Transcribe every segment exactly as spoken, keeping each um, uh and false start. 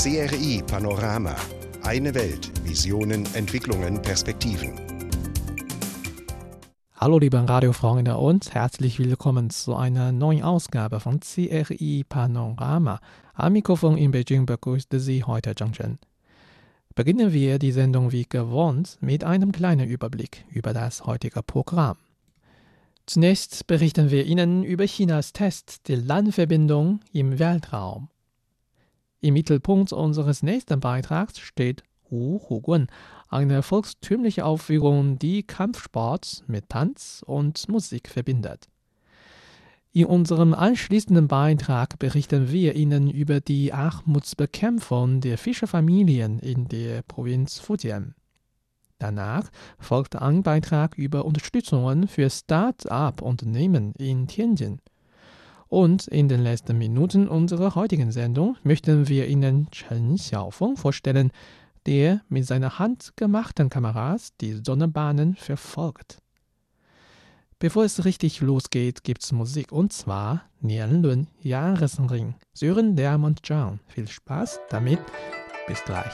C R I Panorama. Eine Welt. Visionen, Entwicklungen, Perspektiven. Hallo liebe Radiofreunde und herzlich willkommen zu einer neuen Ausgabe von C R I Panorama. Am Mikrofon in Beijing begrüßte Sie heute Zhang Zhen. Beginnen wir die Sendung wie gewohnt mit einem kleinen Überblick über das heutige Programm. Zunächst berichten wir Ihnen über Chinas Test der Landverbindung im Weltraum. Im Mittelpunkt unseres nächsten Beitrags steht Wu Hugun, eine volkstümliche Aufführung, die Kampfsport mit Tanz und Musik verbindet. In unserem anschließenden Beitrag berichten wir Ihnen über die Armutsbekämpfung der Fischerfamilien in der Provinz Fujian. Danach folgt ein Beitrag über Unterstützungen für Start-up-Unternehmen in Tianjin. Und in den letzten Minuten unserer heutigen Sendung möchten wir Ihnen Chen Xiaofeng vorstellen, der mit seiner handgemachten Kameras die Sonnenbahnen verfolgt. Bevor es richtig losgeht, gibt's Musik, und zwar Nianlun Jahresring, Sören, Lärm und Zhang. Viel Spaß damit, bis gleich.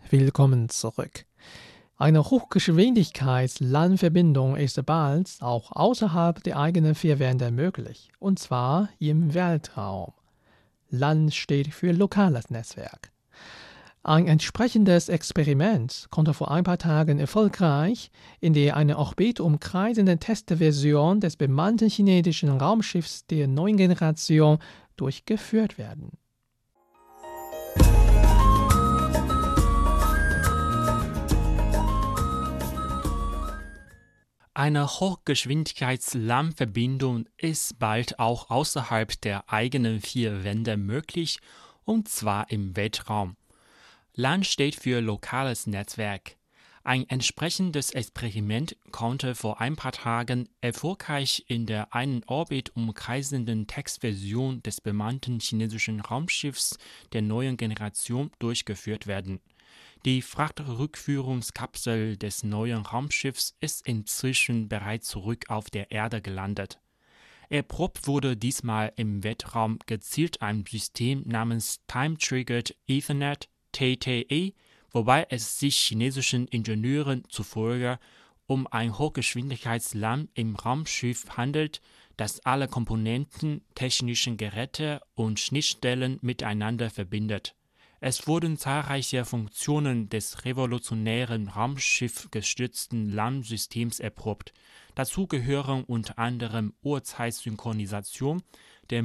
Willkommen zurück. Eine Hochgeschwindigkeits-LAN-Verbindung ist bald auch außerhalb der eigenen vier Wände möglich, und zwar im Weltraum. LAN steht für lokales Netzwerk. Ein entsprechendes Experiment konnte vor ein paar Tagen erfolgreich in der eine Orbit umkreisenden Testversion des bemannten chinesischen Raumschiffs der neuen Generation durchgeführt werden. Eine Hochgeschwindigkeits-LAN-Verbindung ist bald auch außerhalb der eigenen vier Wände möglich, und zwar im Weltraum. LAN steht für lokales Netzwerk. Ein entsprechendes Experiment konnte vor ein paar Tagen erfolgreich in der einen Orbit umkreisenden Testversion des bemannten chinesischen Raumschiffs der neuen Generation durchgeführt werden. Die Frachtrückführungskapsel des neuen Raumschiffs ist inzwischen bereits zurück auf der Erde gelandet. Erprobt wurde diesmal im Weltraum gezielt ein System namens Time-Triggered Ethernet T T E, wobei es sich chinesischen Ingenieuren zufolge um ein Hochgeschwindigkeits-LAN im Raumschiff handelt, das alle Komponenten, technischen Geräte und Schnittstellen miteinander verbindet. Es wurden zahlreiche Funktionen des revolutionären Raumschiff-gestützten LAN-Systems erprobt. Dazu gehören unter anderem Uhrzeitsynchronisation, der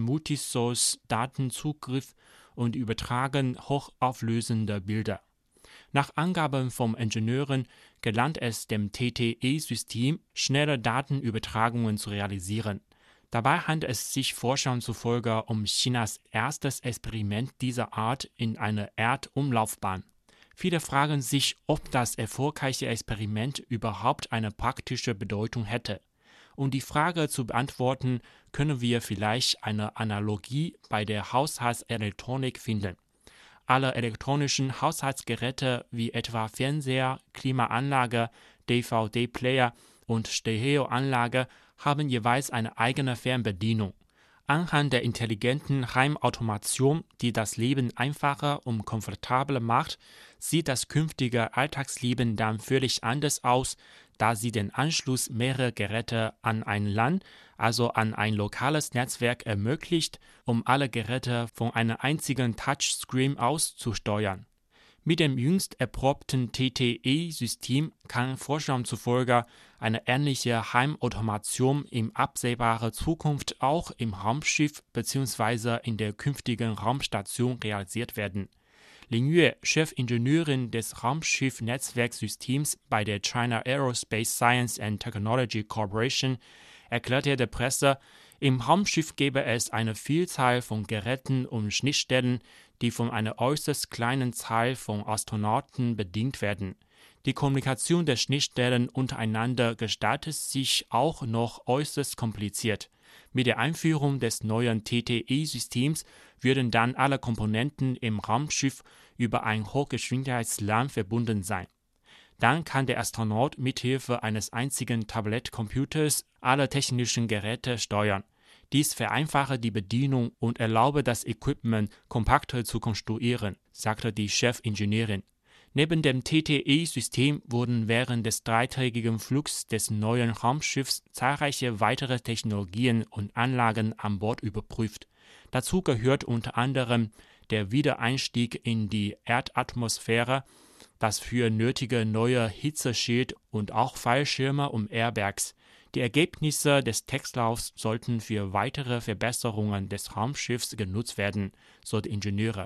Multisource-Datenzugriff und Übertragen hochauflösender Bilder. Nach Angaben von Ingenieuren gelang es dem T T E-System, schnelle Datenübertragungen zu realisieren. Dabei handelt es sich Forschern zufolge um Chinas erstes Experiment dieser Art in einer Erdumlaufbahn. Viele fragen sich, ob das erfolgreiche Experiment überhaupt eine praktische Bedeutung hätte. Um die Frage zu beantworten, können wir vielleicht eine Analogie bei der Haushaltselektronik finden. Alle elektronischen Haushaltsgeräte wie etwa Fernseher, Klimaanlage, D V D-Player und Stereoanlage haben jeweils eine eigene Fernbedienung. Anhand der intelligenten Heimautomation, die das Leben einfacher und komfortabler macht, sieht das künftige Alltagsleben dann völlig anders aus, da sie den Anschluss mehrerer Geräte an ein LAN, also an ein lokales Netzwerk ermöglicht, um alle Geräte von einem einzigen Touchscreen aus zu steuern. Mit dem jüngst erprobten T T E-System kann Forschern zufolge eine ähnliche Heimautomation in absehbarer Zukunft auch im Raumschiff bzw. in der künftigen Raumstation realisiert werden. Lin Yue, Chefingenieurin des Raumschiff-Netzwerksystems bei der China Aerospace Science and Technology Corporation, erklärte der Presse, im Raumschiff gäbe es eine Vielzahl von Geräten und Schnittstellen, die von einer äußerst kleinen Zahl von Astronauten bedient werden. Die Kommunikation der Schnittstellen untereinander gestaltet sich auch noch äußerst kompliziert. Mit der Einführung des neuen T T E-Systems würden dann alle Komponenten im Raumschiff über ein Hochgeschwindigkeits-LAN verbunden sein. Dann kann der Astronaut mithilfe eines einzigen Tablettcomputers alle technischen Geräte steuern. Dies vereinfache die Bedienung und erlaube das Equipment kompakter zu konstruieren, sagte die Chefingenieurin. Neben dem T T E-System wurden während des dreitägigen Flugs des neuen Raumschiffs zahlreiche weitere Technologien und Anlagen an Bord überprüft. Dazu gehört unter anderem der Wiedereinstieg in die Erdatmosphäre, das für nötige neue Hitzeschild und auch Fallschirme und Airbags. Die Ergebnisse des Testlaufs sollten für weitere Verbesserungen des Raumschiffs genutzt werden, so die Ingenieure.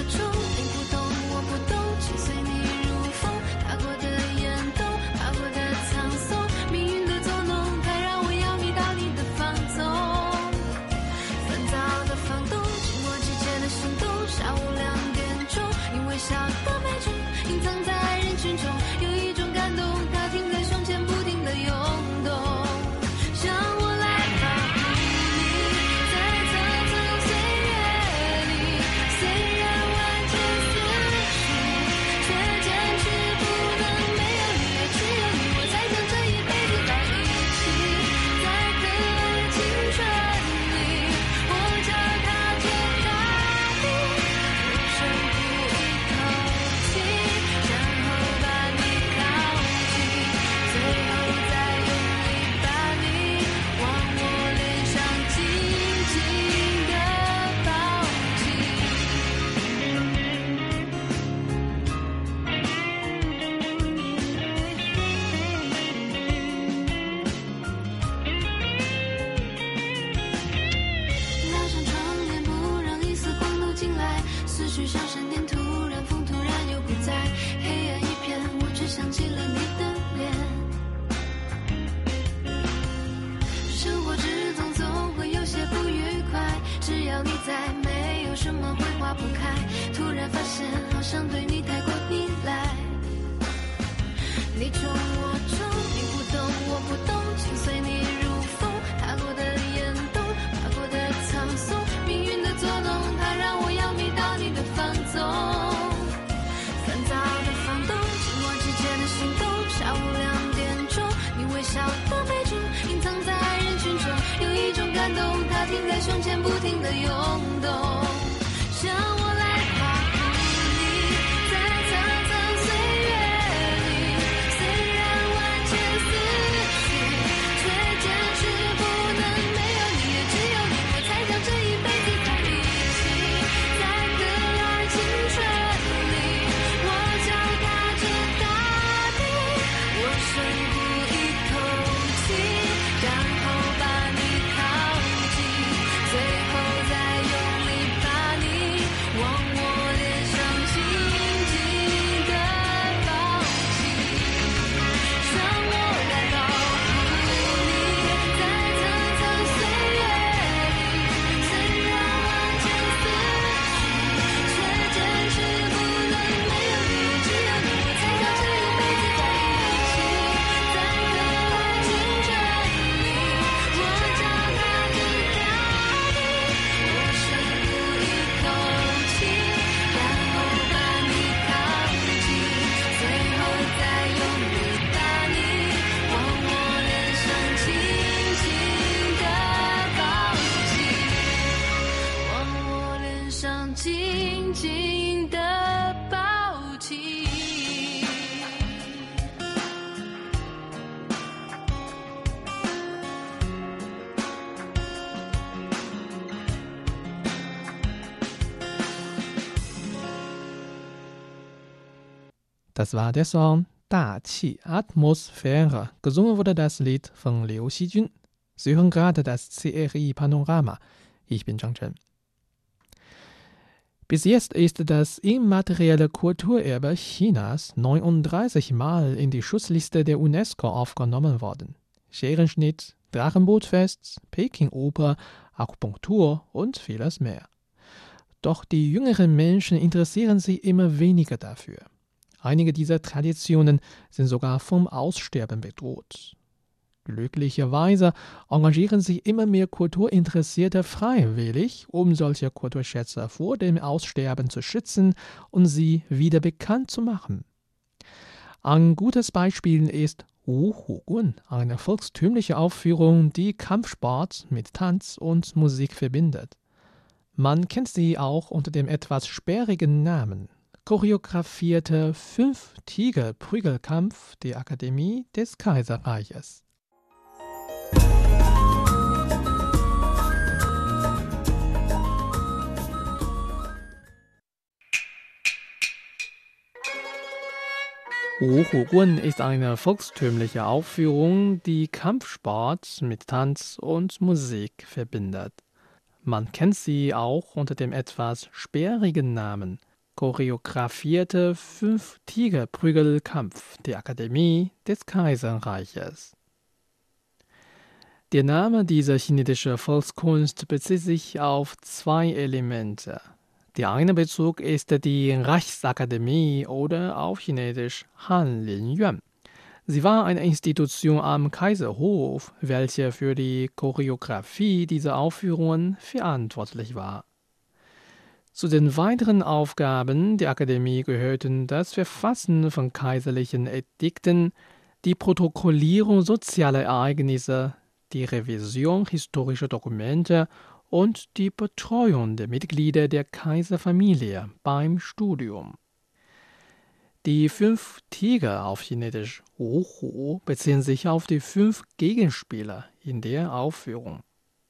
Das war der Song 大气 Atmosphäre. Gesungen wurde das Lied von Liu Xijun. Sie hören gerade das C R I Panorama. Ich bin Zhang Chen. Bis jetzt ist das immaterielle Kulturerbe Chinas neununddreißig Mal in die Schutzliste der UNESCO aufgenommen worden. Scherenschnitt, Drachenbootfest, Peking-Oper, Akupunktur und vieles mehr. Doch die jüngeren Menschen interessieren sich immer weniger dafür. Einige dieser Traditionen sind sogar vom Aussterben bedroht. Glücklicherweise engagieren sich immer mehr Kulturinteressierte freiwillig, um solche Kulturschätze vor dem Aussterben zu schützen und sie wieder bekannt zu machen. Ein gutes Beispiel ist Wu Hu Gun, eine volkstümliche Aufführung, die Kampfsport mit Tanz und Musik verbindet. Man kennt sie auch unter dem etwas sperrigen Namen choreografierte Fünf-Tiger-Prügelkampf der Akademie des Kaiserreiches. Wu Hu Gun ist eine volkstümliche Aufführung, die Kampfsport mit Tanz und Musik verbindet. Man kennt sie auch unter dem etwas sperrigen Namen choreografierte Fünf-Tiger-Prügelkampf der Akademie des Kaiserreiches. Der Name dieser chinesischen Volkskunst bezieht sich auf zwei Elemente. Der eine Bezug ist die Reichsakademie oder auf Chinesisch Hanlin-Yuan. Sie war eine Institution am Kaiserhof, welche für die Choreografie dieser Aufführungen verantwortlich war. Zu den weiteren Aufgaben der Akademie gehörten das Verfassen von kaiserlichen Edikten, die Protokollierung sozialer Ereignisse, die Revision historischer Dokumente und die Betreuung der Mitglieder der Kaiserfamilie beim Studium. Die fünf Tiger auf Chinesisch Wuhu beziehen sich auf die fünf Gegenspieler in der Aufführung.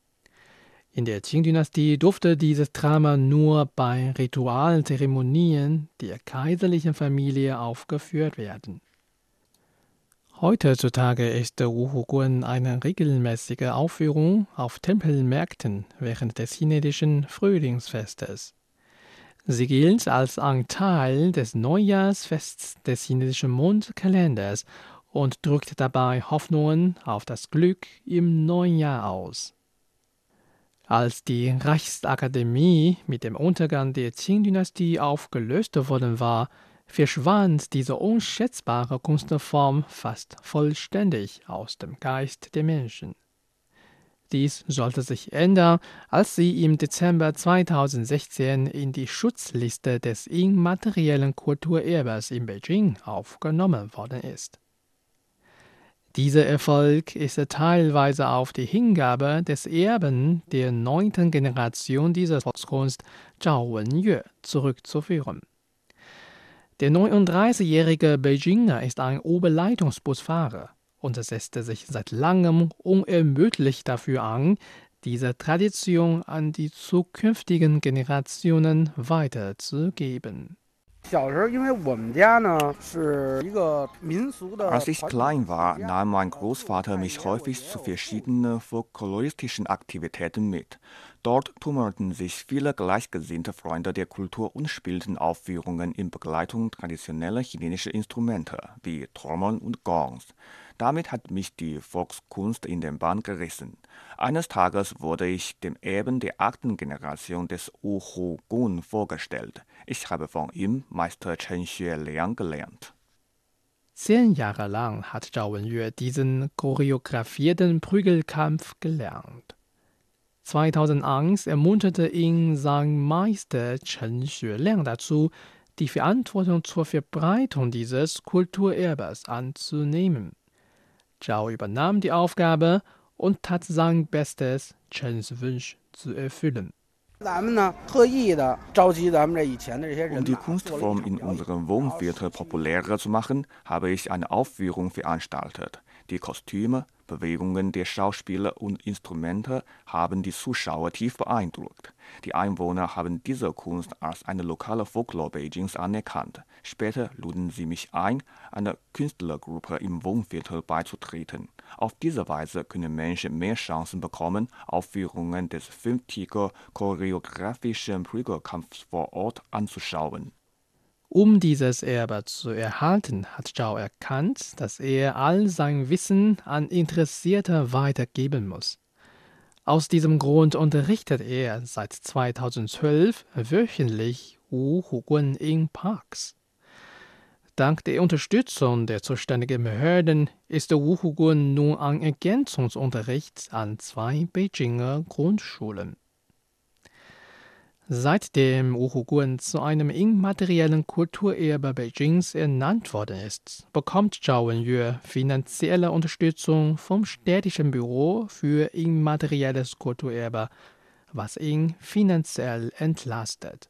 In der Qing-Dynastie durfte dieses Drama nur bei ritualen Zeremonien der kaiserlichen Familie aufgeführt werden. Heutzutage ist der Wuhu-Guan eine regelmäßige Aufführung auf Tempelmärkten während des chinesischen Frühlingsfestes. Sie gilt als ein Teil des Neujahrsfests des chinesischen Mondkalenders und drückt dabei Hoffnungen auf das Glück im neuen Jahr aus. Als die Reichsakademie mit dem Untergang der Qing-Dynastie aufgelöst worden war, verschwand diese unschätzbare Kunstform fast vollständig aus dem Geist der Menschen. Dies sollte sich ändern, als sie im Dezember zweitausendsechzehn in die Schutzliste des immateriellen Kulturerbes in Beijing aufgenommen worden ist. Dieser Erfolg ist teilweise auf die Hingabe des Erben der neunten Generation dieser Volkskunst, Zhao Wenyue, zurückzuführen. Der neununddreißigjährige Beijinger ist ein Oberleitungsbusfahrer und setzte sich seit langem unermüdlich dafür ein, diese Tradition an die zukünftigen Generationen weiterzugeben. Als ich klein war, nahm mein Großvater mich häufig zu verschiedenen folkloristischen Aktivitäten mit. Dort tummelten sich viele gleichgesinnte Freunde der Kultur und spielten Aufführungen in Begleitung traditioneller chinesischer Instrumente wie Trommeln und Gongs. Damit hat mich die Volkskunst in den Bann gerissen. Eines Tages wurde ich dem Erben der achten Generation des Wuhu-Guan vorgestellt. Ich habe von ihm Meister Chen Xueliang gelernt. Zehn Jahre lang hat Zhao Wenyue diesen choreografierten Prügelkampf gelernt. zweitausendeins ermunterte ihn sein Meister Chen Xueliang dazu, die Verantwortung zur Verbreitung dieses Kulturerbes anzunehmen. Zhao übernahm die Aufgabe und tat sein Bestes, Chens Wunsch zu erfüllen. Um die Kunstform in unserem Wohnviertel populärer zu machen, habe ich eine Aufführung veranstaltet. Die Kostüme, Bewegungen der Schauspieler und Instrumente haben die Zuschauer tief beeindruckt. Die Einwohner haben diese Kunst als eine lokale Folklore Beijings anerkannt. Später luden sie mich ein, einer Künstlergruppe im Wohnviertel beizutreten. Auf diese Weise können Menschen mehr Chancen bekommen, Aufführungen des fünftiger-choreografischen Prügelkampfs vor Ort anzuschauen. Um dieses Erbe zu erhalten, hat Zhao erkannt, dass er all sein Wissen an Interessierte weitergeben muss. Aus diesem Grund unterrichtet er seit zweitausendzwölf wöchentlich Wuhu-Guan in Parks. Dank der Unterstützung der zuständigen Behörden ist der Wuhu-Guan nun ein Ergänzungsunterricht an zwei Beijinger Grundschulen. Seitdem Wuhu-Guan zu einem immateriellen Kulturerbe Beijings ernannt worden ist, bekommt Zhao Wenyue finanzielle Unterstützung vom städtischen Büro für immaterielles Kulturerbe, was ihn finanziell entlastet.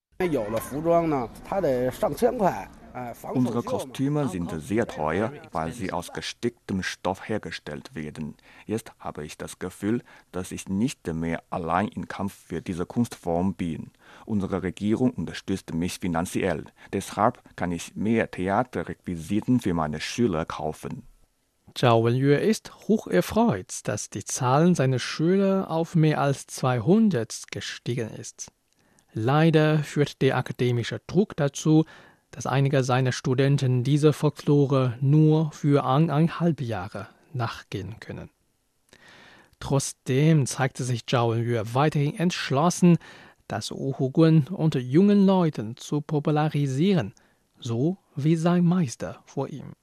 Unsere Kostüme sind sehr teuer, weil sie aus gesticktem Stoff hergestellt werden. Jetzt habe ich das Gefühl, dass ich nicht mehr allein im Kampf für diese Kunstform bin. Unsere Regierung unterstützt mich finanziell. Deshalb kann ich mehr Theaterrequisiten für meine Schüler kaufen. Zhao Wenyue ist hocherfreut, dass die Zahl seiner Schüler auf mehr als zweihundert gestiegen ist. Leider führt der akademische Druck dazu, dass einige seiner Studenten diese Folklore nur für eineinhalb Jahre nachgehen können. Trotzdem zeigte sich Zhao Wenyu weiterhin entschlossen, das Wuhu-Gun unter jungen Leuten zu popularisieren, so wie sein Meister vor ihm.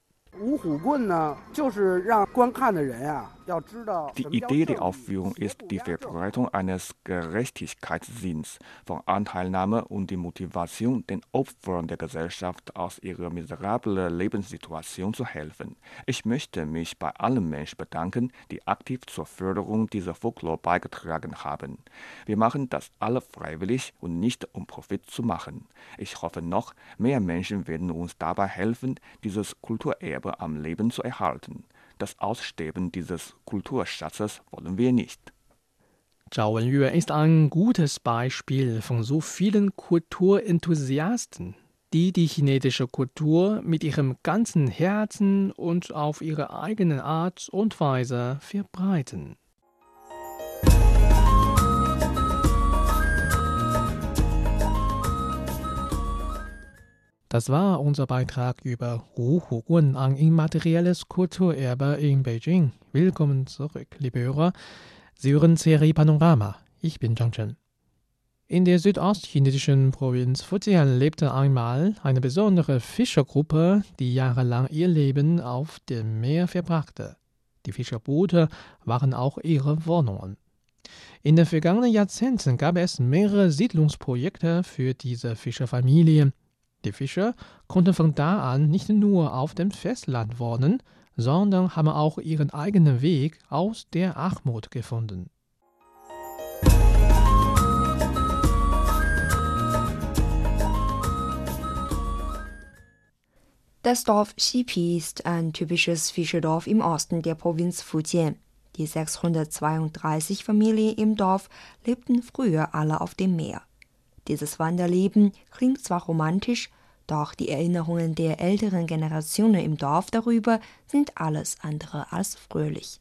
Die Idee der Aufführung ist die Verbreitung eines Gerechtigkeitssinns, von Anteilnahme und die Motivation, den Opfern der Gesellschaft aus ihrer miserablen Lebenssituation zu helfen. Ich möchte mich bei allen Menschen bedanken, die aktiv zur Förderung dieser Folklore beigetragen haben. Wir machen das alle freiwillig und nicht um Profit zu machen. Ich hoffe noch, mehr Menschen werden uns dabei helfen, dieses Kulturerbe am Leben zu erhalten. Das Aussterben dieses Kulturschatzes wollen wir nicht. Zhao Wenyu ist ein gutes Beispiel von so vielen Kulturenthusiasten, die die chinesische Kultur mit ihrem ganzen Herzen und auf ihre eigene Art und Weise verbreiten. Das war unser Beitrag über Wuhu-Gun, ein immaterielles Kulturerbe in Beijing. Willkommen zurück, liebe Hörer. Sie hören C R I Panorama. Ich bin Zhang Chen. In der südostchinesischen Provinz Fujian lebte einmal eine besondere Fischergruppe, die jahrelang ihr Leben auf dem Meer verbrachte. Die Fischerboote waren auch ihre Wohnungen. In den vergangenen Jahrzehnten gab es mehrere Siedlungsprojekte für diese Fischerfamilie. Die Fischer konnten von da an nicht nur auf dem Festland wohnen, sondern haben auch ihren eigenen Weg aus der Armut gefunden. Das Dorf Xipi ist ein typisches Fischerdorf im Osten der Provinz Fujian. Die sechshundertzweiunddreißig Familien im Dorf lebten früher alle auf dem Meer. Dieses Wanderleben klingt zwar romantisch, doch die Erinnerungen der älteren Generationen im Dorf darüber sind alles andere als fröhlich.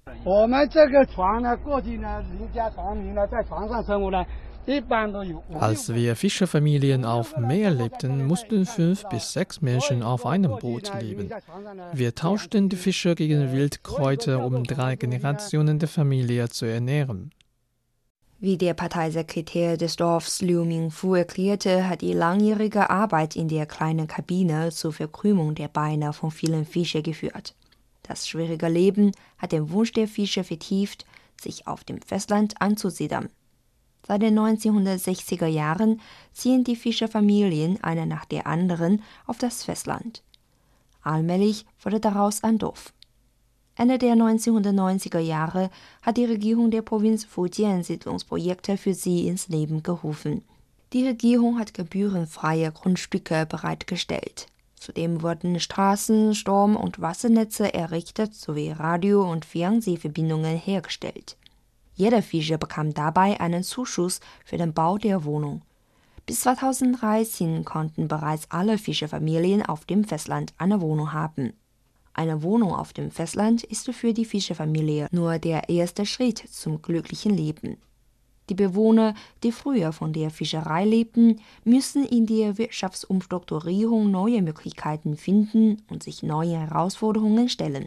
Als wir Fischerfamilien auf Meer lebten, mussten fünf bis sechs Menschen auf einem Boot leben. Wir tauschten die Fische gegen Wildkräuter, um drei Generationen der Familie zu ernähren. Wie der Parteisekretär des Dorfs Liu Mingfu erklärte, hat die langjährige Arbeit in der kleinen Kabine zur Verkrümmung der Beine von vielen Fischen geführt. Das schwierige Leben hat den Wunsch der Fischer vertieft, sich auf dem Festland anzusiedeln. Seit den neunzehnhundertsechziger Jahren ziehen die Fischerfamilien eine nach der anderen auf das Festland. Allmählich wurde daraus ein Dorf. Ende der neunzehnhundertneunziger Jahre hat die Regierung der Provinz Fujian Siedlungsprojekte für sie ins Leben gerufen. Die Regierung hat gebührenfreie Grundstücke bereitgestellt. Zudem wurden Straßen, Strom- und Wassernetze errichtet sowie Radio- und Fernsehverbindungen hergestellt. Jeder Fischer bekam dabei einen Zuschuss für den Bau der Wohnung. Bis zweitausenddreizehn konnten bereits alle Fischerfamilien auf dem Festland eine Wohnung haben. Eine Wohnung auf dem Festland ist für die Fischerfamilie nur der erste Schritt zum glücklichen Leben. Die Bewohner, die früher von der Fischerei lebten, müssen in der Wirtschaftsumstrukturierung neue Möglichkeiten finden und sich neue Herausforderungen stellen.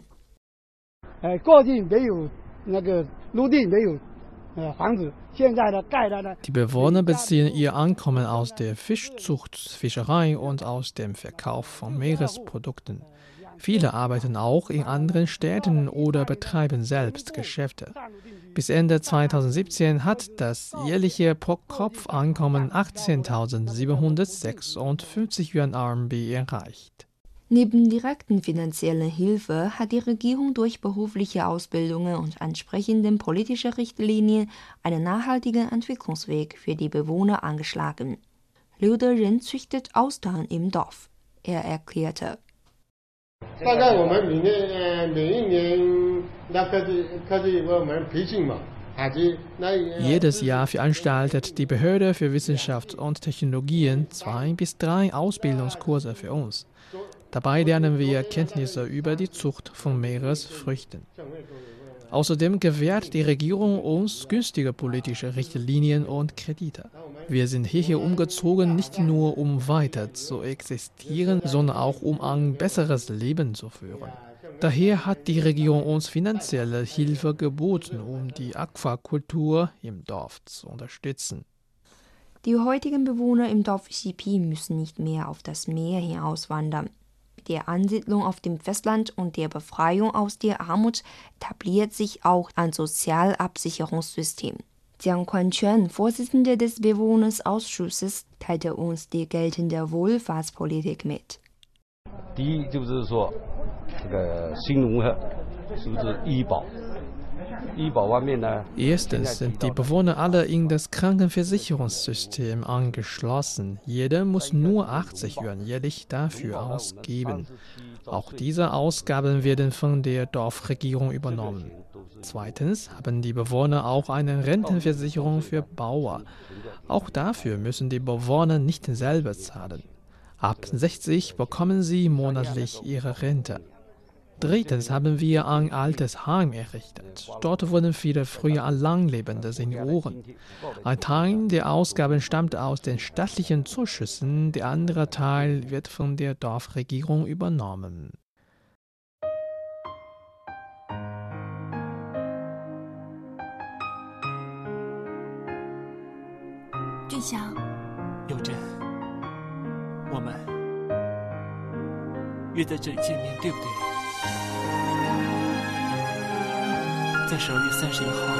Die Bewohner beziehen ihr Einkommen aus der Fischzucht, Fischerei und aus dem Verkauf von Meeresprodukten. Viele arbeiten auch in anderen Städten oder betreiben selbst Geschäfte. Bis Ende zweitausendsiebzehn hat das jährliche Pro-Kopf-Einkommen achtzehntausendsiebenhundertsechsundfünfzig Yuan R M B erreicht. Neben direkten finanziellen Hilfe hat die Regierung durch berufliche Ausbildungen und entsprechenden politischen Richtlinien einen nachhaltigen Entwicklungsweg für die Bewohner angeschlagen. Liu Deren züchtet Austern im Dorf. Er erklärte: Jedes Jahr veranstaltet die Behörde für Wissenschaft und Technologien zwei bis drei Ausbildungskurse für uns. Dabei lernen wir Kenntnisse über die Zucht von Meeresfrüchten. Außerdem gewährt die Regierung uns günstige politische Richtlinien und Kredite. Wir sind hierher umgezogen, nicht nur um weiter zu existieren, sondern auch um ein besseres Leben zu führen. Daher hat die Regierung uns finanzielle Hilfe geboten, um die Aquakultur im Dorf zu unterstützen. Die heutigen Bewohner im Dorf Xipi müssen nicht mehr auf das Meer hinauswandern. Mit der Ansiedlung auf dem Festland und der Befreiung aus der Armut etabliert sich auch ein Sozialabsicherungssystem. Jiang Kuan-Quan, Vorsitzender des Bewohnersausschusses, teilte uns die geltende Wohlfahrtspolitik mit. Erstens sind die Bewohner alle in das Krankenversicherungssystem angeschlossen. Jeder muss nur achtzig Yuan jährlich dafür ausgeben. Auch diese Ausgaben werden von der Dorfregierung übernommen. Zweitens haben die Bewohner auch eine Rentenversicherung für Bauern. Auch dafür müssen die Bewohner nicht selber zahlen. Ab sechzig bekommen sie monatlich ihre Rente. Drittens haben wir ein altes Heim errichtet. Dort wohnen viele früher allanlebende Senioren. Ein Teil der Ausgaben stammt aus den staatlichen Zuschüssen, der andere Teil wird von der Dorfregierung übernommen. Junxiang， 有真，我们约在这里见面，对不对？在十二月三十一号，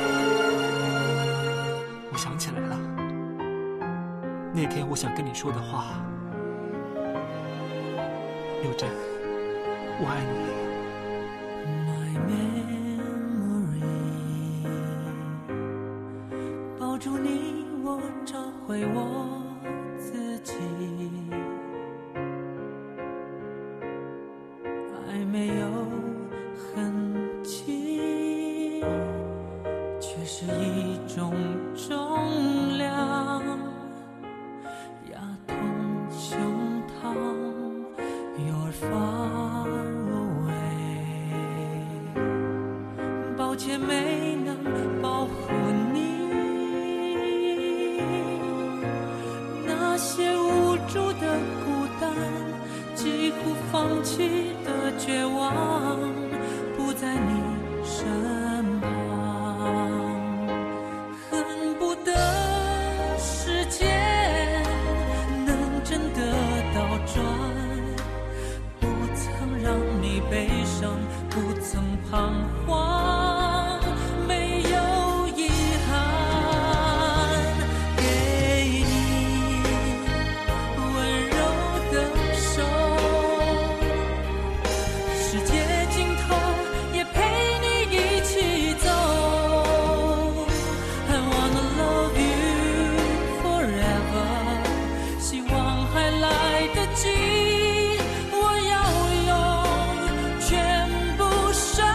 我想起来了，那天我想跟你说的话。有真，我爱你。 抱住你，我找回我自己。爱没有痕迹，却是一种重量，压痛胸膛。You're far away， 抱歉没能保护你。那些无助的孤单，几乎放弃的绝望，不在你身旁。恨不得时间能真的倒转，不曾让你悲伤，不曾彷徨，没有遗憾。给你温柔的手，世界尽头也陪你一起走。I wanna love you forever， 希望还来得及，我要用全部生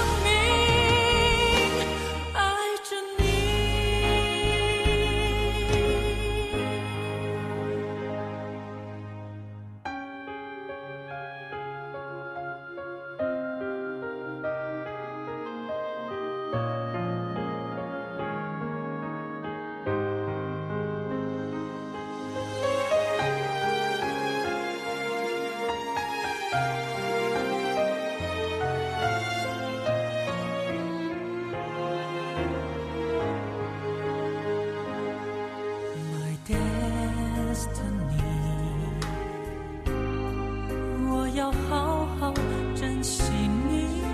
命爱着你。My destiny， 我要好好珍惜你。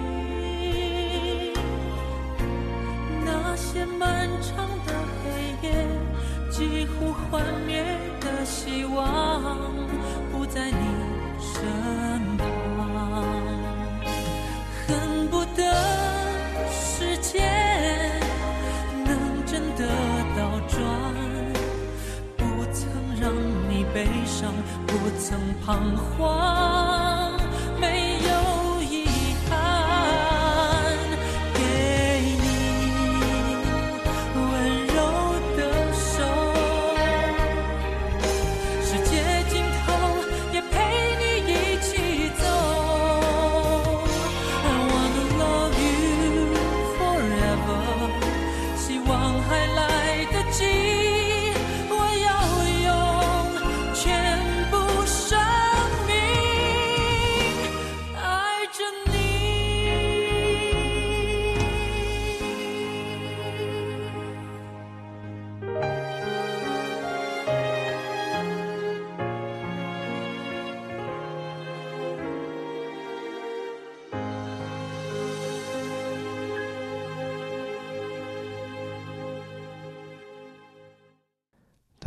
那些漫长的黑夜，几乎幻灭的希望，不在你身旁。恨不得时间能真的倒转，不曾让你悲伤，不曾彷徨，没有遗憾。给你温柔的手，世界尽头也陪你一起走。I wanna love you forever， 希望还来得及，我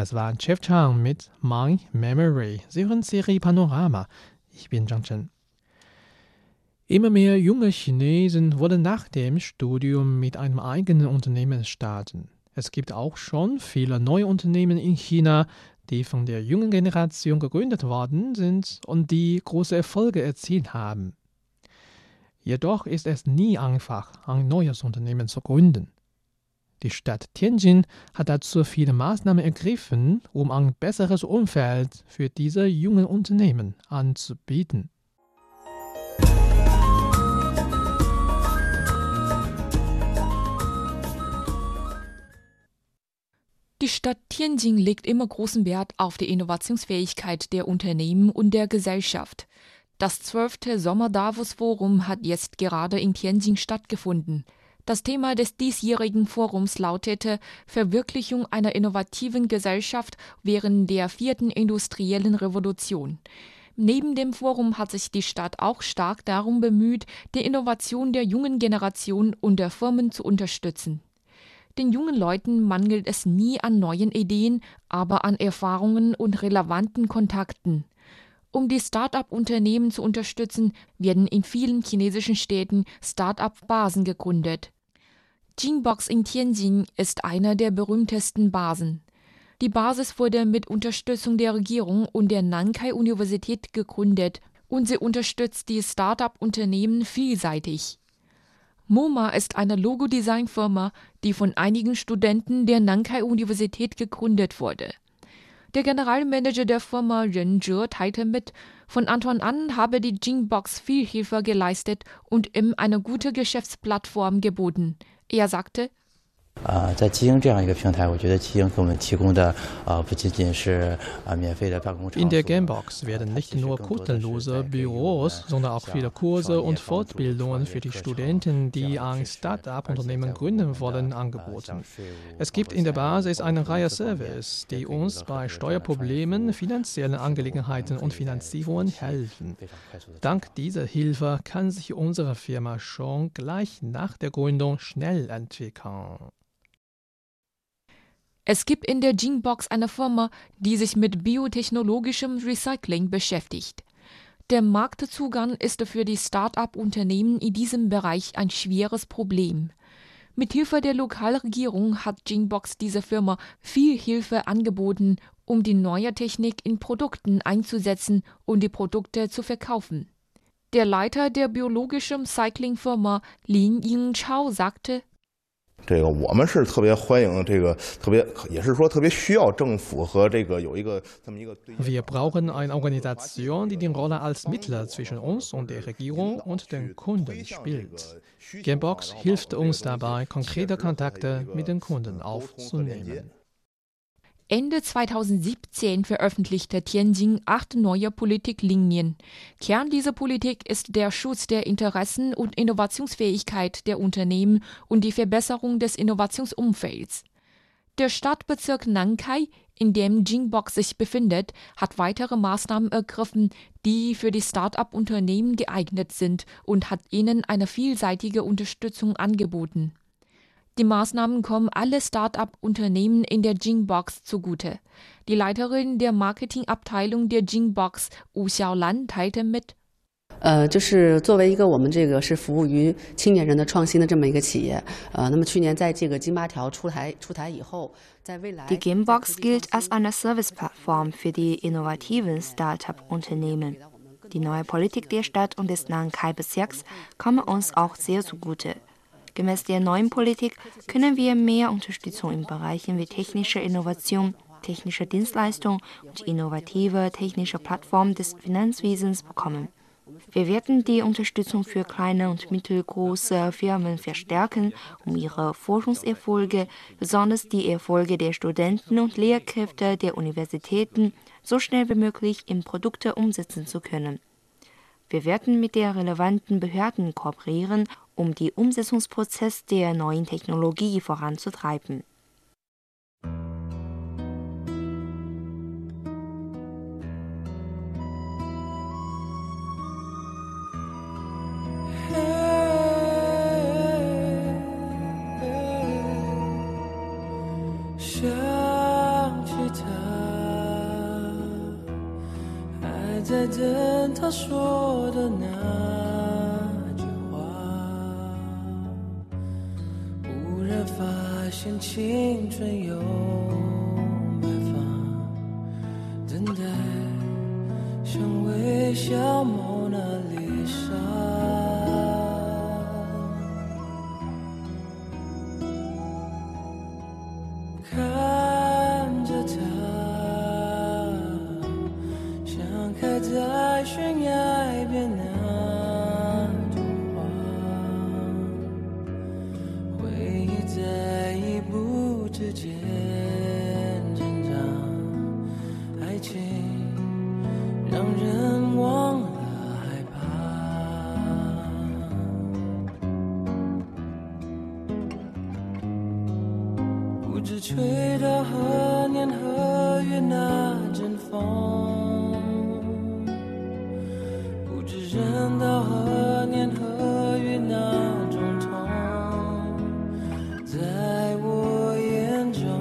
Das war Jeff Chang mit My Memory. Sie hören C R I Panorama. Ich bin Zhang Chen. Immer mehr junge Chinesen wollen nach dem Studium mit einem eigenen Unternehmen starten. Es gibt auch schon viele neue Unternehmen in China, die von der jungen Generation gegründet worden sind und die große Erfolge erzielt haben. Jedoch ist es nie einfach, ein neues Unternehmen zu gründen. Die Stadt Tianjin hat dazu viele Maßnahmen ergriffen, um ein besseres Umfeld für diese jungen Unternehmen anzubieten. Die Stadt Tianjin legt immer großen Wert auf die Innovationsfähigkeit der Unternehmen und der Gesellschaft. Das zwölfte Sommer-Davos-Forum hat jetzt gerade in Tianjin stattgefunden. Das Thema des diesjährigen Forums lautete Verwirklichung einer innovativen Gesellschaft während der vierten industriellen Revolution. Neben dem Forum hat sich die Stadt auch stark darum bemüht, die Innovation der jungen Generation und der Firmen zu unterstützen. Den jungen Leuten mangelt es nie an neuen Ideen, aber an Erfahrungen und relevanten Kontakten. Um die Start-up-Unternehmen zu unterstützen, werden in vielen chinesischen Städten Start-up-Basen gegründet. Jingbox in Tianjin ist einer der berühmtesten Basen. Die Basis wurde mit Unterstützung der Regierung und der Nankai-Universität gegründet und sie unterstützt die Start-up-Unternehmen vielseitig. MoMA ist eine Logodesign-Firma, die von einigen Studenten der Nankai-Universität gegründet wurde. Der Generalmanager der Firma Ren Zhe teilte mit, von Anfang an habe die Jingbox viel Hilfe geleistet und ihm eine gute Geschäftsplattform geboten. Er sagte, in der Gamebox werden nicht nur kostenlose Büros, sondern auch viele Kurse und Fortbildungen für die Studenten, die ein Start-up-Unternehmen gründen wollen, angeboten. Es gibt in der Basis eine Reihe Services, die uns bei Steuerproblemen, finanziellen Angelegenheiten und Finanzierungen helfen. Dank dieser Hilfe kann sich unsere Firma schon gleich nach der Gründung schnell entwickeln. Es gibt in der Jingbox eine Firma, die sich mit biotechnologischem Recycling beschäftigt. Der Marktzugang ist für die Start-up-Unternehmen in diesem Bereich ein schweres Problem. Mithilfe der Lokalregierung hat Jingbox dieser Firma viel Hilfe angeboten, um die neue Technik in Produkten einzusetzen und die Produkte zu verkaufen. Der Leiter der biologischen Recycling-Firma Lin Yingchao sagte, wir brauchen eine Organisation, die die Rolle als Mittler zwischen uns und der Regierung und den Kunden spielt. Gamebox hilft uns dabei, konkrete Kontakte mit den Kunden aufzunehmen. Ende zweitausendsiebzehn veröffentlichte Tianjin acht neue Politiklinien. Kern dieser Politik ist der Schutz der Interessen und Innovationsfähigkeit der Unternehmen und die Verbesserung des Innovationsumfelds. Der Stadtbezirk Nankai, in dem Jingbox sich befindet, hat weitere Maßnahmen ergriffen, die für die Start-up-Unternehmen geeignet sind und hat ihnen eine vielseitige Unterstützung angeboten. Die Maßnahmen kommen alle Start-up-Unternehmen in der Jingbox zugute. Die Leiterin der Marketingabteilung der Jingbox, Wu Xiaolan, teilte mit, Die Gamebox gilt als eine Serviceplattform für die innovativen Start-up-Unternehmen. Die neue Politik der Stadt und des Nankai-Bezirks kommt uns auch sehr zugute. Gemäß der neuen Politik können wir mehr Unterstützung in Bereichen wie technische Innovation, technische Dienstleistung und innovative technische Plattformen des Finanzwesens bekommen. Wir werden die Unterstützung für kleine und mittelgroße Firmen verstärken, um ihre Forschungserfolge, besonders die Erfolge der Studenten und Lehrkräfte der Universitäten, so schnell wie möglich in Produkte umsetzen zu können. Wir werden mit den relevanten Behörden kooperieren, um den Umsetzungsprozess der neuen Technologie voranzutreiben. Hey, hey, 想起他在等他说的那句话，忽然发现青春有白发，等待像微笑蒙娜丽莎。看着他像开在悬崖边那朵花，回忆在一步之间挣扎，爱情让人忘了害怕。不知吹到何年何月那阵风，不知忍到何年何月那种痛，在我眼中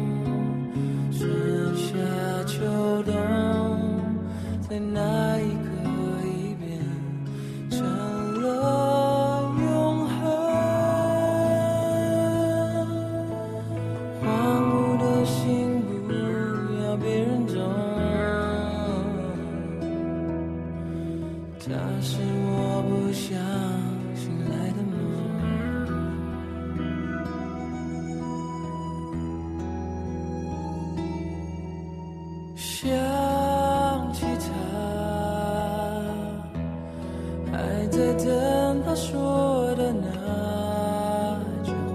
春夏秋冬，在那一刻已变成了永恒。荒芜的心不要别人懂，它是我不想醒来的梦。想起他，还在等他说的那句话，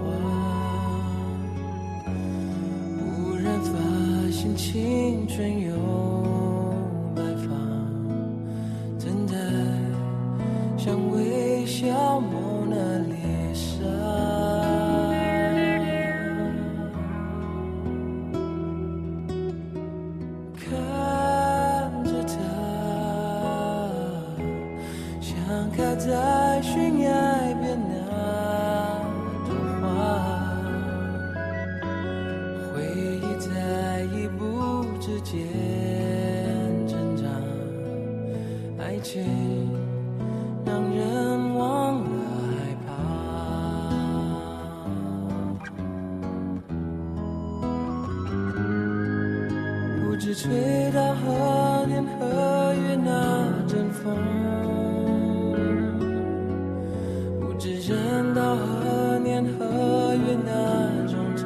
忽然发现青春有白发，等待像微笑蒙娜丽莎。看着他像开在悬崖边那朵花，回忆在一步之间挣扎，爱情让人忘了害怕。不知吹到何年何月那阵风，不知忍到何年何月那种痛，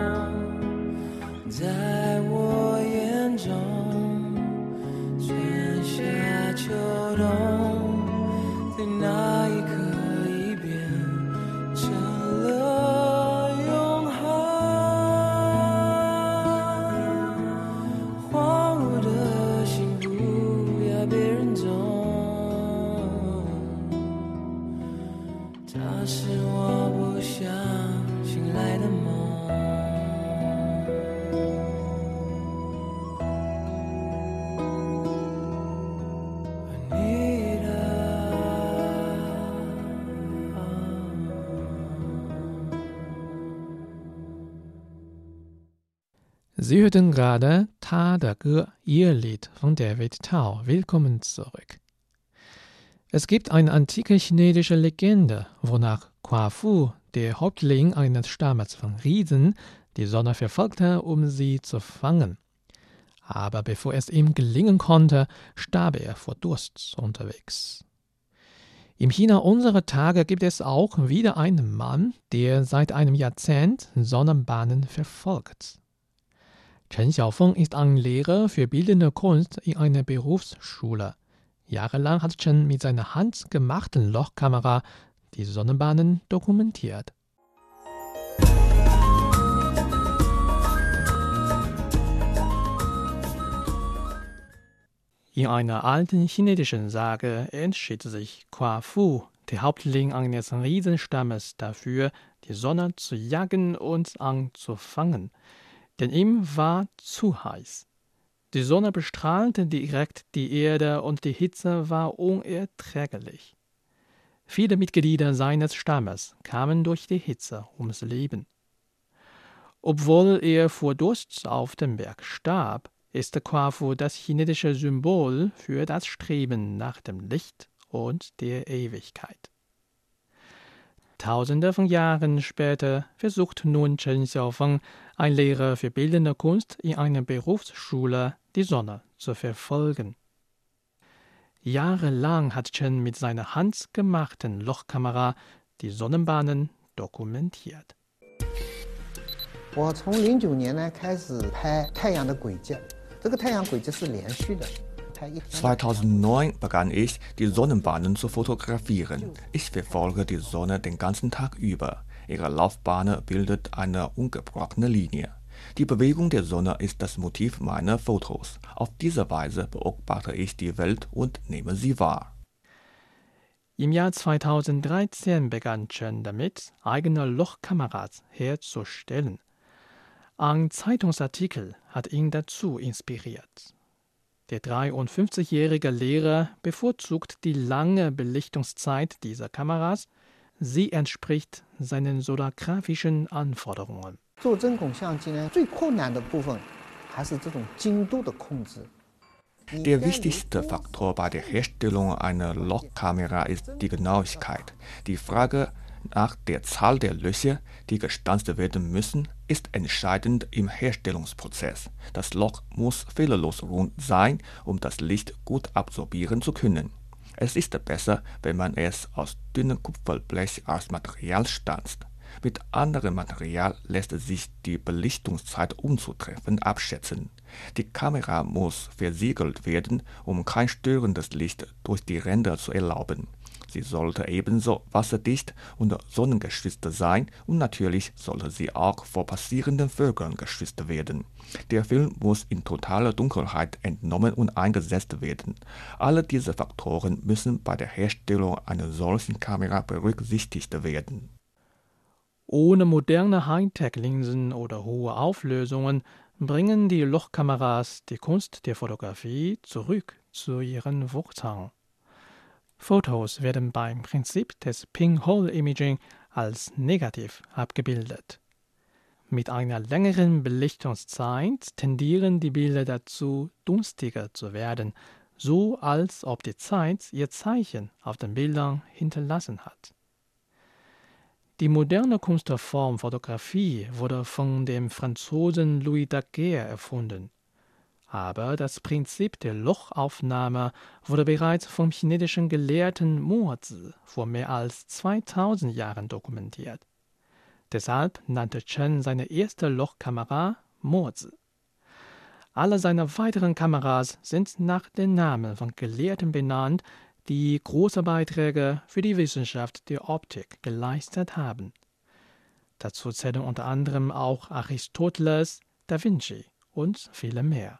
在我眼中春夏秋冬，在那一刻已变成了永恒。荒芜的心不要别人懂，它是我不想醒来的梦。 Sie hörten gerade Ta der Ge, ihr Lied von David Tao. Willkommen zurück. Es gibt eine antike chinesische Legende, wonach Quafu, der Häuptling eines Stammes von Riesen, die Sonne verfolgte, um sie zu fangen. Aber bevor es ihm gelingen konnte, starb er vor Durst unterwegs. Im China unserer Tage gibt es auch wieder einen Mann, der seit einem Jahrzehnt Sonnenbahnen verfolgt. Chen Xiaofeng ist ein Lehrer für bildende Kunst in einer Berufsschule. Jahrelang hat Chen mit seiner handgemachten Lochkamera die Sonnenbahnen dokumentiert. In einer alten chinesischen Sage entschied sich Quafu, der Häuptling eines Riesenstammes, dafür, die Sonne zu jagen und anzufangen. Denn ihm war zu heiß. Die Sonne bestrahlte direkt die Erde und die Hitze war unerträglich. Viele Mitglieder seines Stammes kamen durch die Hitze ums Leben. Obwohl er vor Durst auf dem Berg starb, ist Quafu das chinesische Symbol für das Streben nach dem Licht und der Ewigkeit. Tausende von Jahren später versucht nun Chen Xiaofeng, ein Lehrer für bildende Kunst in einer Berufsschule, die Sonne zu verfolgen. Jahrelang hat Chen mit seiner handgemachten Lochkamera die Sonnenbahnen dokumentiert. zweitausendneun begann ich, die Sonnenbahnen zu fotografieren. Ich verfolge die Sonne den ganzen Tag über. Ihre Laufbahn bildet eine ungebrochene Linie. Die Bewegung der Sonne ist das Motiv meiner Fotos. Auf diese Weise beobachte ich die Welt und nehme sie wahr. Im Jahr zweitausenddreizehn begann Chen damit, eigene Lochkameras herzustellen. Ein Zeitungsartikel hat ihn dazu inspiriert. Der dreiundfünfzigjährige Lehrer bevorzugt die lange Belichtungszeit dieser Kameras. Sie entspricht seinen solargraphischen Anforderungen. Der wichtigste Faktor bei der Herstellung einer Lochkamera ist die Genauigkeit. Die Frage nach der Zahl der Löcher, die gestanzt werden müssen, ist entscheidend im Herstellungsprozess. Das Loch muss fehlerlos rund sein, um das Licht gut absorbieren zu können. Es ist besser, wenn man es aus dünnem Kupferblech als Material stanzt. Mit anderem Material lässt sich die Belichtungszeit unzutreffend abschätzen. Die Kamera muss versiegelt werden, um kein störendes Licht durch die Ränder zu erlauben. Sie sollte ebenso wasserdicht und sonnengeschützt sein und natürlich sollte sie auch vor passierenden Vögeln geschützt werden. Der Film muss in totaler Dunkelheit entnommen und eingesetzt werden. Alle diese Faktoren müssen bei der Herstellung einer solchen Kamera berücksichtigt werden. Ohne moderne Hightech-Linsen oder hohe Auflösungen bringen die Lochkameras die Kunst der Fotografie zurück zu ihren Wurzeln. Fotos werden beim Prinzip des Pinhole-Imaging als negativ abgebildet. Mit einer längeren Belichtungszeit tendieren die Bilder dazu, dunstiger zu werden, so als ob die Zeit ihr Zeichen auf den Bildern hinterlassen hat. Die moderne Kunstform Fotografie wurde von dem Franzosen Louis Daguerre erfunden. Aber das Prinzip der Lochaufnahme wurde bereits vom chinesischen Gelehrten Mozi vor mehr als zweitausend Jahren dokumentiert. Deshalb nannte Chen seine erste Lochkamera Mozi. Alle seine weiteren Kameras sind nach den Namen von Gelehrten benannt, die große Beiträge für die Wissenschaft der Optik geleistet haben. Dazu zählen unter anderem auch Aristoteles, Da Vinci und viele mehr.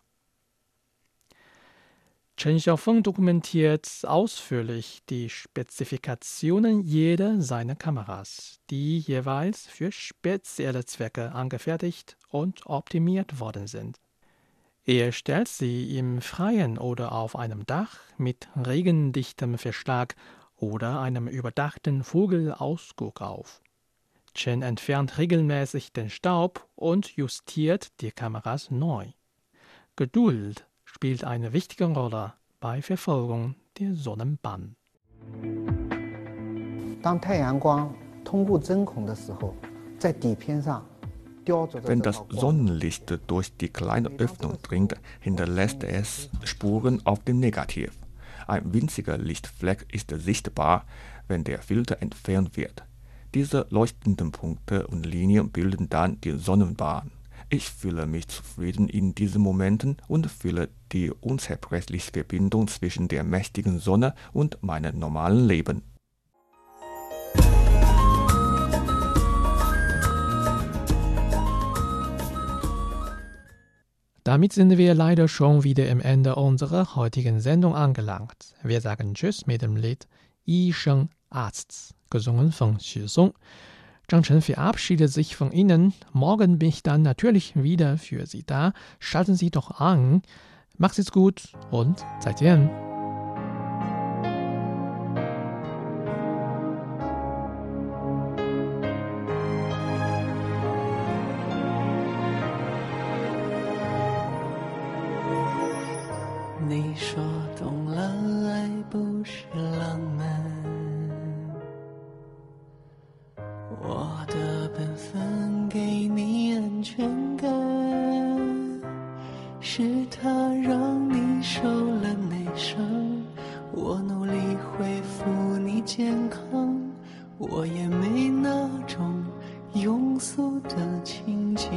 Chen Xiaofeng dokumentiert ausführlich die Spezifikationen jeder seiner Kameras, die jeweils für spezielle Zwecke angefertigt und optimiert worden sind. Er stellt sie im Freien oder auf einem Dach mit regendichtem Verschlag oder einem überdachten Vogelausguck auf. Chen entfernt regelmäßig den Staub und justiert die Kameras neu. Geduld spielt eine wichtige Rolle bei Verfolgung der Sonnenbahn. Wenn das Sonnenlicht durch die kleine Öffnung dringt, hinterlässt es Spuren auf dem Negativ. Ein winziger Lichtfleck ist sichtbar, wenn der Filter entfernt wird. Diese leuchtenden Punkte und Linien bilden dann die Sonnenbahn. Ich fühle mich zufrieden in diesen Momenten und fühle die unzerbrechliche Verbindung zwischen der mächtigen Sonne und meinem normalen Leben. Damit sind wir leider schon wieder am Ende unserer heutigen Sendung angelangt. Wir sagen Tschüss mit dem Lied Yi Sheng Arzt, gesungen von Xu Song. Zhang Chen verabschiedet sich von Ihnen. Morgen bin ich dann natürlich wieder für Sie da. Schalten Sie doch an. Macht's es gut und 再见. 说懂了，爱不是浪漫。我的本分给你安全感，是他让你受了内伤。我努力恢复你健康，我也没那种庸俗的情节。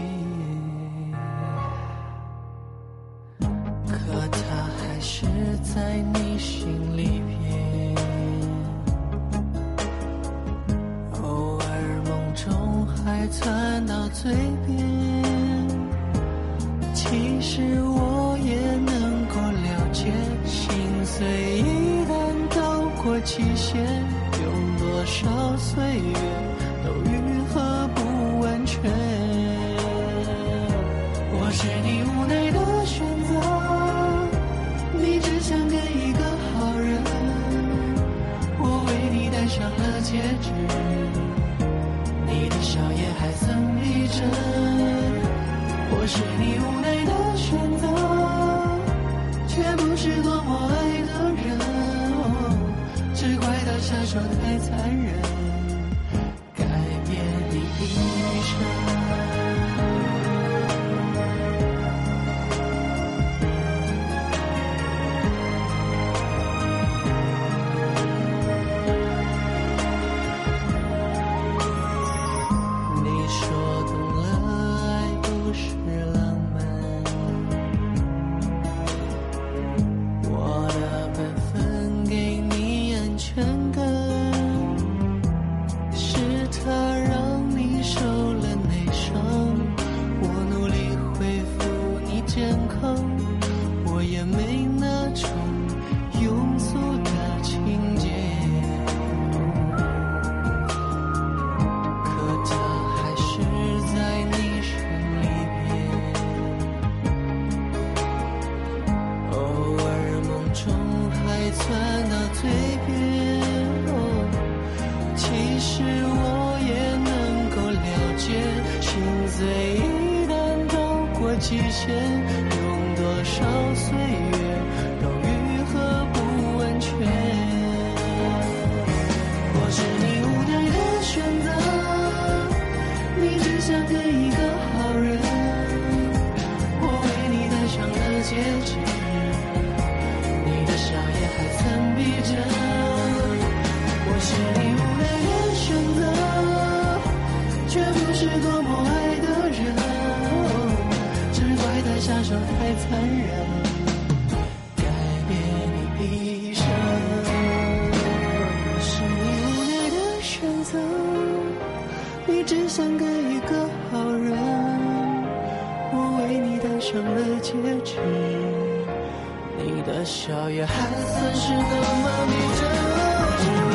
可他还是在你心里边，偶尔梦中还窜到嘴边。其实我也能够了解，心碎一旦到过极限，用多少岁月都愈合不完全。我是你无奈的选择，你只想跟一个好人，我为你戴上了戒指，你的笑也还曾逼真。我是你无奈的选择，却不是多么爱的人，哦，只怪他下手太残忍，改变你一生。极限，用多少岁月都愈合不完全。我是你无奈的选择，你只想跟一个好人，我为你戴上了戒指，你的笑也还曾逼真。我是你无奈的选择，却不是多么爱的人，下手太残忍，改变你一生。是你无奈的选择，你只想跟一个好人，我为你戴上了戒指，你的笑也还算是那么逼真。